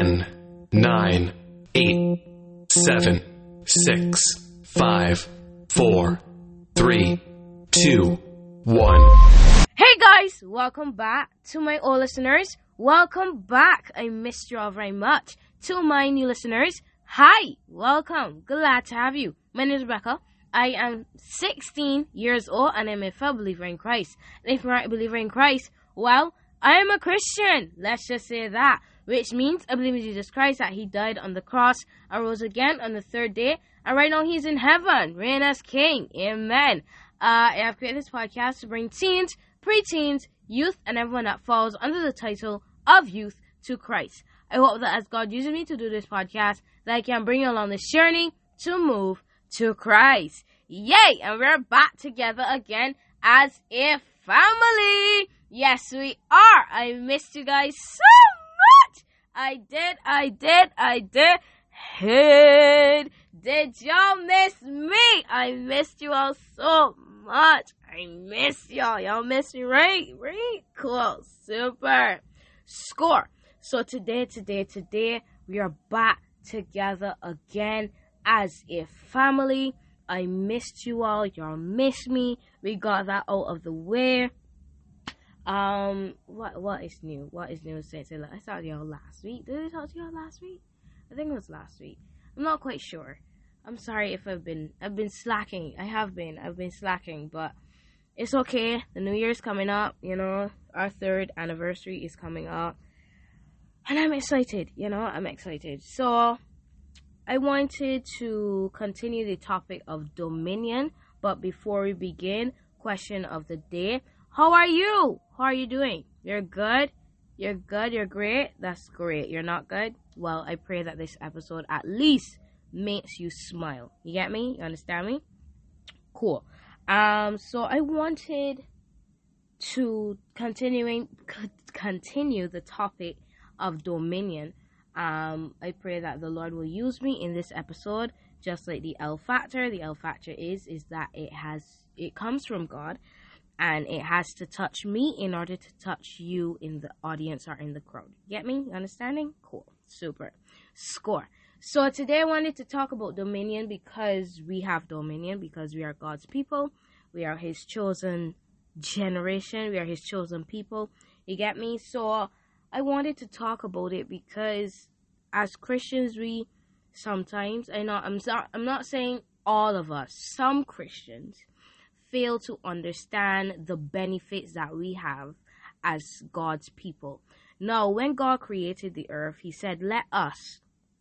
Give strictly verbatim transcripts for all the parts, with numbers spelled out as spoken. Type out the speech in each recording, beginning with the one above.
ten, nine, eight, seven, six, five, four, three, two, one. Hey guys, welcome back to my old listeners. Welcome back. I missed you all very much. To my new listeners, hi, welcome. Glad to have you. My name is Rebecca. I am sixteen years old and I'm a fellow believer in Christ. And if you're not a believer in Christ, well, I am a Christian. Let's just say that. Which means I believe in Jesus Christ, that he died on the cross and rose again on the third day. And right now he's in heaven, reigning as king. Amen. Uh, I have created this podcast to bring teens, preteens, youth, and everyone that falls under the title of youth to Christ. I hope that as God uses me to do this podcast, that I can bring you along this journey to move to Christ. Yay! And we're back together again as a family. Yes, we are. I missed you guys so much. I did, I did, I did. Hey, did y'all miss me? I missed you all so much. I miss y'all. Y'all miss me, right? Right? Cool. Super. Score. So today, today, today, we are back together again as a family. I missed you all. Y'all missed me. We got that out of the way. Um, what what is new? What is new since I saw y'all last week? Did I talk to y'all last week? I think it was last week. I'm not quite sure. I'm sorry if I've been I've been slacking. I have been. I've been slacking, but it's okay. The New Year's coming up. You know, our third anniversary is coming up, and I'm excited. You know, I'm excited. So I wanted to continue the topic of dominion, but before we begin, question of the day. How are you? How are you doing? You're good? You're good? You're great? That's great. You're not good? Well, I pray that this episode at least makes you smile. You get me? You understand me? Cool. Um, so I wanted to continuing c- continue the topic of dominion. Um, I pray that the Lord will use me in this episode, just like the L factor. The L factor is is that it has it comes from God. And it has to touch me in order to touch you in the audience or in the crowd. Get me? You understanding? Cool. Super. Score. So today I wanted to talk about dominion because we have dominion, because we are God's people. We are his chosen generation. We are his chosen people. You get me? So I wanted to talk about it because as Christians, we sometimes, I know, I'm not, I'm not saying all of us, some Christians fail to understand the benefits that we have as God's people. Now, when God created the earth, he said, let us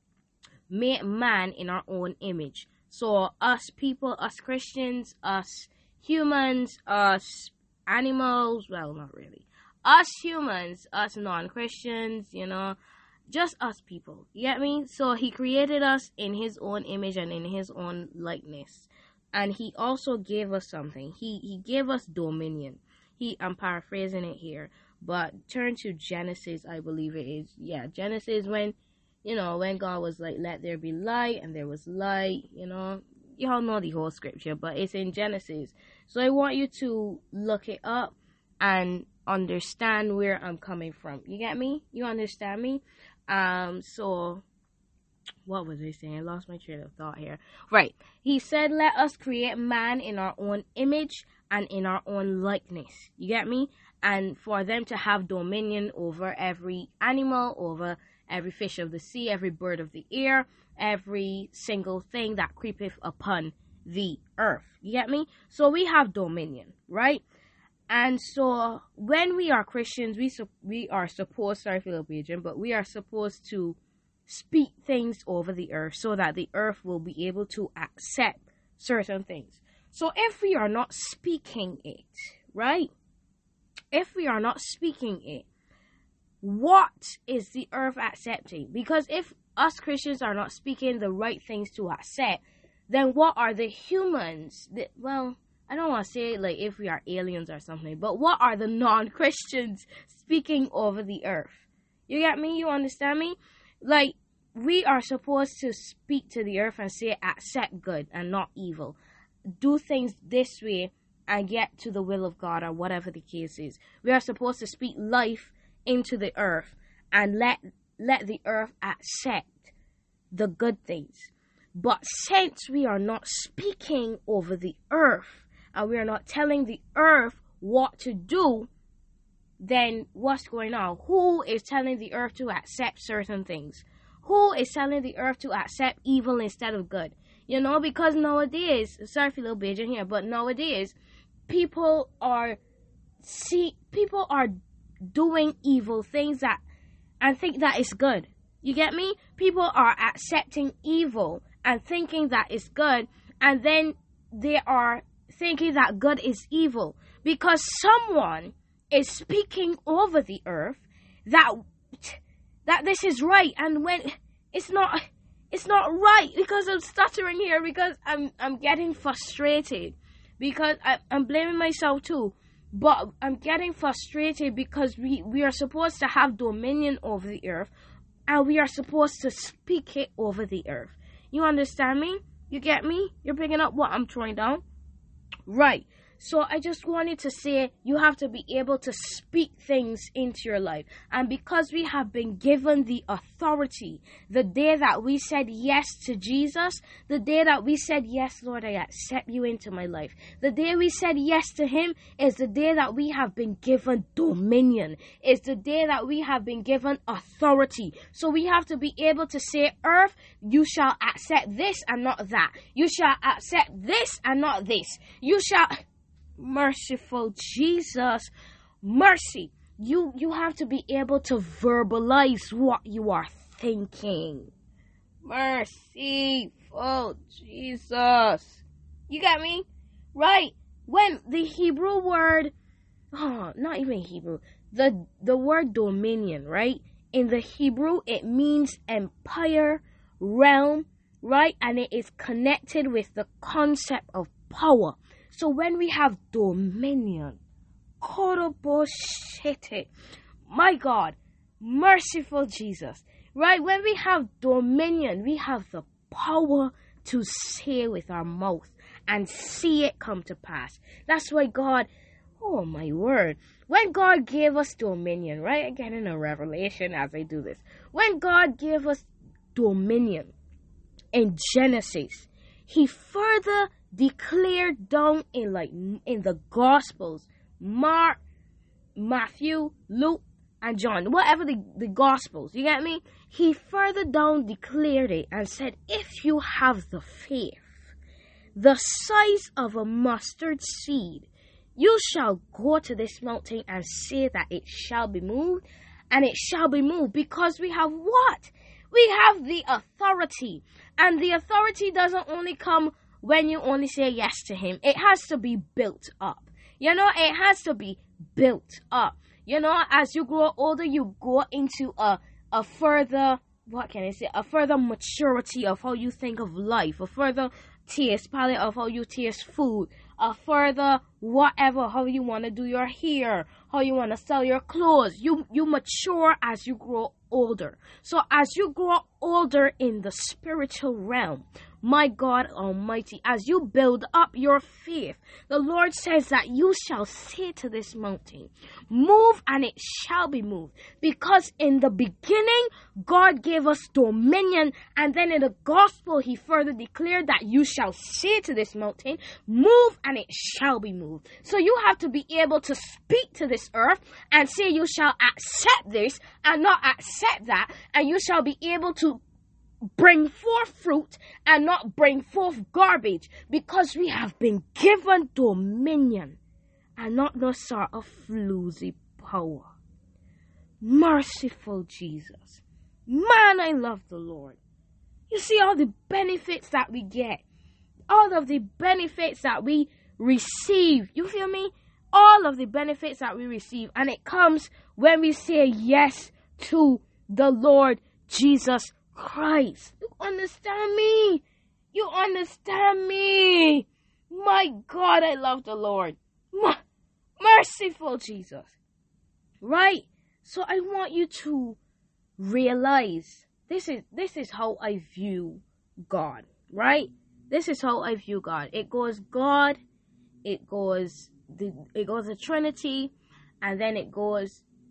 make man in our own image. So us people, us Christians, us humans, us animals, well, not really. Us humans, us non-Christians, you know, just us people. You get me? So he created us in his own image and in his own likeness. And he also gave us something. He he gave us dominion. He I'm paraphrasing it here, but turn to Genesis, I believe it is. Yeah, Genesis, when, you know, when God was like, let there be light, and there was light, you know. Y'all know the whole scripture, but it's in Genesis. So I want you to look it up and understand where I'm coming from. You get me? You understand me? Um, so what was I saying? I lost my train of thought here. Right. He said, let us create man in our own image and in our own likeness. You get me? And for them to have dominion over every animal, over every fish of the sea, every bird of the air, every single thing that creepeth upon the earth. You get me? So we have dominion, right? And so when we are Christians, we su- we are supposed, sorry for the region, but we are supposed to speak things over the earth so that the earth will be able to accept certain things. So if we are not speaking it, right? If we are not speaking it, what is the earth accepting? Because if us Christians are not speaking the right things to accept, then what are the humans that, well, I don't want to say like if we are aliens or something, but what are the non-Christians speaking over the earth? You get me? You understand me? Like, we are supposed to speak to the earth and say, accept good and not evil. Do things this way and get to the will of God, or whatever the case is. We are supposed to speak life into the earth and let let the earth accept the good things. But since we are not speaking over the earth, and we are not telling the earth what to do, then what's going on? Who is telling the earth to accept certain things? Who is telling the earth to accept evil instead of good? You know, because nowadays, sorry for a little Beijing here, but nowadays, people are see people are doing evil things that and think that is good. You get me? People are accepting evil and thinking that is good, and then they are thinking that good is evil because someone is speaking over the earth that that this is right, and when it's not it's not right, because I'm stuttering here, because I'm I'm getting frustrated, because I, I'm blaming myself too, but I'm getting frustrated because we, we are supposed to have dominion over the earth, and we are supposed to speak it over the earth. You understand me? You get me? You're picking up what I'm throwing down? Right. So I just wanted to say you have to be able to speak things into your life. And because we have been given the authority, the day that we said yes to Jesus, the day that we said, yes, Lord, I accept you into my life, the day we said yes to him is the day that we have been given dominion. It's the day that we have been given authority. So we have to be able to say, earth, you shall accept this and not that. You shall accept this and not this. You shall... Merciful Jesus, mercy. You you have to be able to verbalize what you are thinking. Merciful Jesus. You got me? Right. When the Hebrew word, oh, not even Hebrew, the the word dominion, right? In the Hebrew, it means empire, realm, right? And it is connected with the concept of power. So when we have dominion, my God, merciful Jesus, right? When we have dominion, we have the power to say with our mouth and see it come to pass. That's why God, oh my word, when God gave us dominion, right? Again in a revelation as I do this, when God gave us dominion in Genesis, he further declared down in like in the Gospels, Mark, Matthew, Luke, and John, whatever the, the Gospels, you get me? He further down declared it and said, if you have the faith, the size of a mustard seed, you shall go to this mountain and say that it shall be moved, and it shall be moved, because we have what? We have the authority, and the authority doesn't only come when you only say yes to him. It has to be built up. You know, it has to be built up. You know, as you grow older, you go into a a further, what can I say, a further maturity of how you think of life, a further taste palette of how you taste food, a further whatever, how you want to do your hair, how you want to sell your clothes. You you mature as you grow older. So as you grow older in the spiritual realm, my God Almighty, as you build up your faith, the Lord says that you shall say to this mountain, move, and it shall be moved. Because in the beginning, God gave us dominion, and then in the gospel, he further declared that you shall say to this mountain, move, and it shall be moved. So you have to be able to speak to this earth and say you shall accept this and not accept that, and you shall be able to bring forth fruit and not bring forth garbage, because we have been given dominion and not no sort of floozy power. Merciful Jesus. Man, I love the Lord. You see all the benefits that we get, all of the benefits that we receive. You feel me? All of the benefits that we receive, and it comes when we say yes to the Lord Jesus Christ. You understand me? You understand me? My God, I love the Lord. M- merciful Jesus. Right? So I want you to realize this is this is how I view God, right? This is how I view God. It goes God, it goes the it goes the Trinity, and then it goes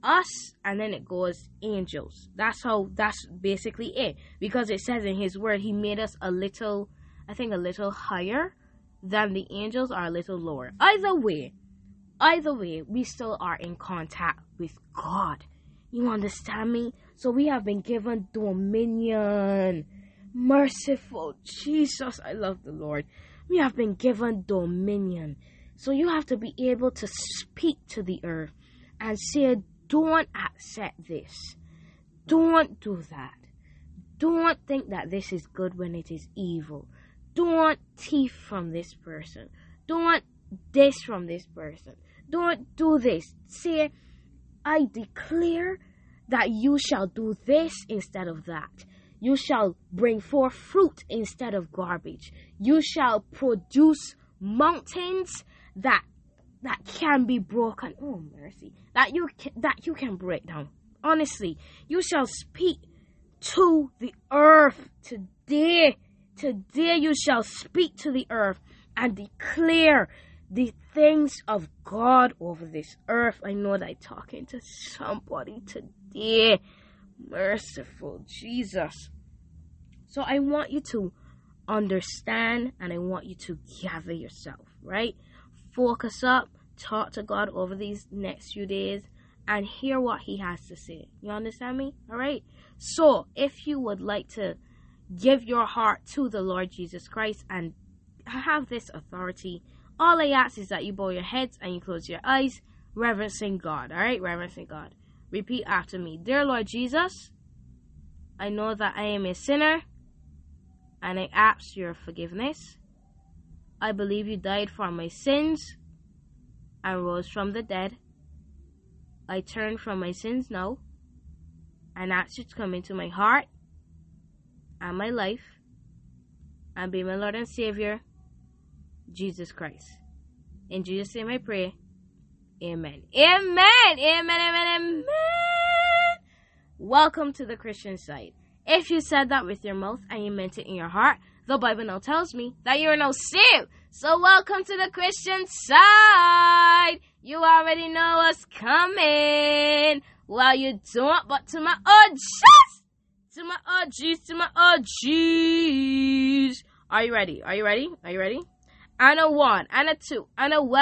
us, and then it goes angels. That's how, that's basically it. Because it says in his word, he made us a little, I think a little higher than the angels, or a little lower. Either way, either way, we still are in contact with God. You understand me? So we have been given dominion. Merciful Jesus, I love the Lord. We have been given dominion. So you have to be able to speak to the earth and say, don't accept this. Don't do that. Don't think that this is good when it is evil. Don't thief from this person. Don't this from this person. Don't do this. Say, I declare that you shall do this instead of that. You shall bring forth fruit instead of garbage. You shall produce mountains that that can be broken. Oh, mercy. That you can, that you can break down. Honestly, you shall speak to the earth today. Today you shall speak to the earth and declare the things of God over this earth. I know that I'm talking to somebody today. Merciful Jesus. So I want you to understand, and I want you to gather yourself, right? Focus up, talk to God over these next few days, and hear what he has to say. You understand me? All right? So if you would like to give your heart to the Lord Jesus Christ and have this authority, all I ask is that you bow your heads and you close your eyes, reverencing God. All right? Reverencing God. Repeat after me. Dear Lord Jesus, I know that I am a sinner, and I ask your forgiveness. I believe you died for my sins and rose from the dead. I turn from my sins now and ask you to come into my heart and my life and be my Lord and Savior, Jesus Christ. In Jesus' name I pray. Amen. Amen. Amen. Amen. Amen. Welcome to the Christian side. If you said that with your mouth and you meant it in your heart, the Bible now tells me that you are now saved. So welcome to the Christian side. You already know what's coming. Well, you don't, but to my O Gs, to my O Gs, to my O Gs. Are you ready? Are you ready? Are you ready? And a one, and a two, and a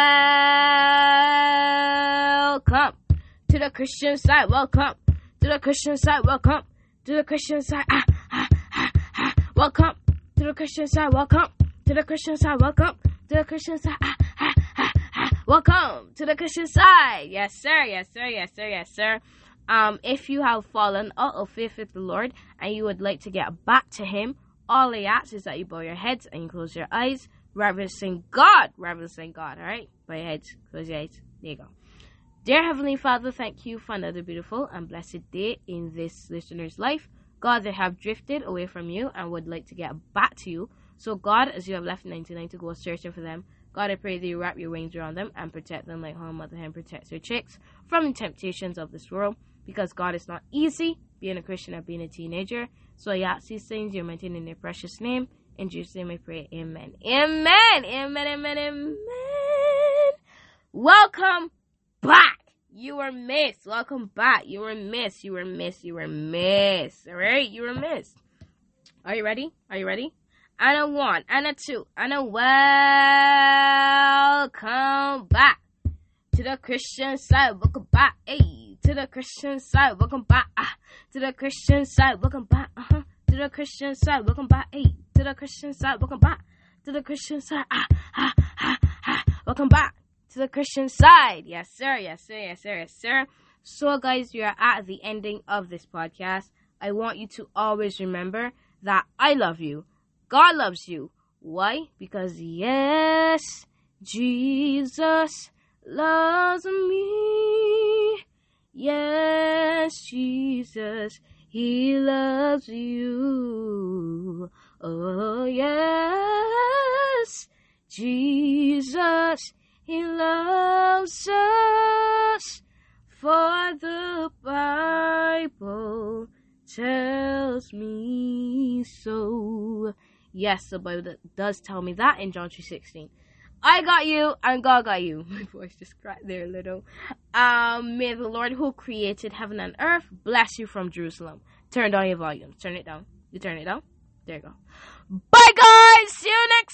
welcome to the Christian side. Welcome to the Christian side. Welcome to the Christian side. Ah, ah, ah, ah. Welcome to the Christian side. Welcome to the Christian side. Welcome to the Christian side. Ah, ah, ah, ah. Welcome to the Christian side. Yes, sir. Yes, sir. Yes, sir. Yes, sir. Um, if you have fallen out of faith with the Lord and you would like to get back to Him, all I ask is that you bow your heads and you close your eyes, reverencing God. Reverencing God. All right. Bow your heads. Close your eyes. There you go. Dear Heavenly Father, thank you for another beautiful and blessed day in this listener's life. God, they have drifted away from you and would like to get back to you. So God, as you have left ninety-nine to go searching for them, God, I pray that you wrap your wings around them and protect them like how a mother hen protects her chicks from the temptations of this world. Because God, it's not easy being a Christian or being a teenager. So I ask these things, you're maintained in your precious name. In Jesus' name I pray, amen. Amen, amen, amen, amen. Welcome back. You were missed. Welcome back. You were missed. You were missed. You were missed. All right? You were missed. Are you ready? Are you ready? And a one, and a two, and a welcome back to the Christian side. Welcome back. Hey, to the Christian side. Welcome back. Ah, to the Christian side. Welcome back. Uh-huh. To the Christian side. Welcome back. Hey, to the Christian side. Welcome back. To the Christian side. Ah, ah, ah, ah. Welcome back to the Christian side. Yes, sir. Yes, sir. Yes, sir. Yes, sir. So, guys, we are at the ending of this podcast. I want you to always remember that I love you. God loves you. Why? Because, yes, Jesus loves me. Yes, Jesus, He loves you. Oh, yes, Jesus, He loves us, for the Bible tells me so. Yes, the Bible does tell me that in John three sixteen. I got you, and God got you. My voice just cracked there a little. Um, may the Lord who created heaven and earth bless you from Jerusalem. Turn down your volume. Turn it down. You turn it down? There you go. Bye, guys. See you next